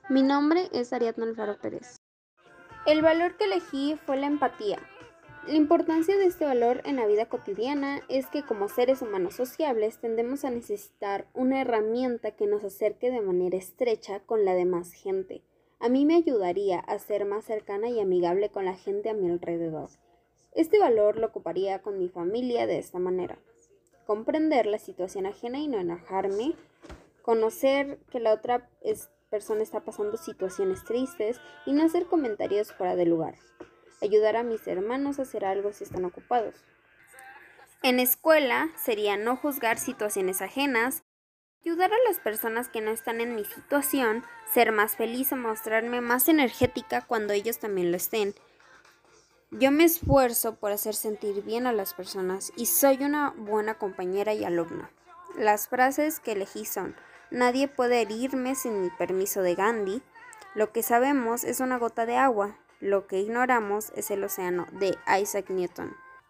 Mi nombre es Ariadna Alfaro Pérez. El valor que elegí fue la empatía. La importancia de este valor en la vida cotidiana es que como seres humanos sociables tendemos a necesitar una herramienta que nos acerque de manera estrecha con la demás gente. A mí me ayudaría a ser más cercana y amigable con la gente a mi alrededor. Este valor lo ocuparía con mi familia de esta manera: comprender la situación ajena y no enojarme, conocer que la otra persona está pasando situaciones tristes y no hacer comentarios fuera de lugar, ayudar a mis hermanos a hacer algo si están ocupados. En escuela sería no juzgar situaciones ajenas, ayudar a las personas que no están en mi situación, ser más feliz o mostrarme más energética cuando ellos también lo estén. Yo me esfuerzo por hacer sentir bien a las personas y soy una buena compañera y alumna. Las frases que elegí son: nadie puede herirme sin mi permiso, de Gandhi; lo que sabemos es una gota de agua; lo que ignoramos es el océano, de Isaac Newton.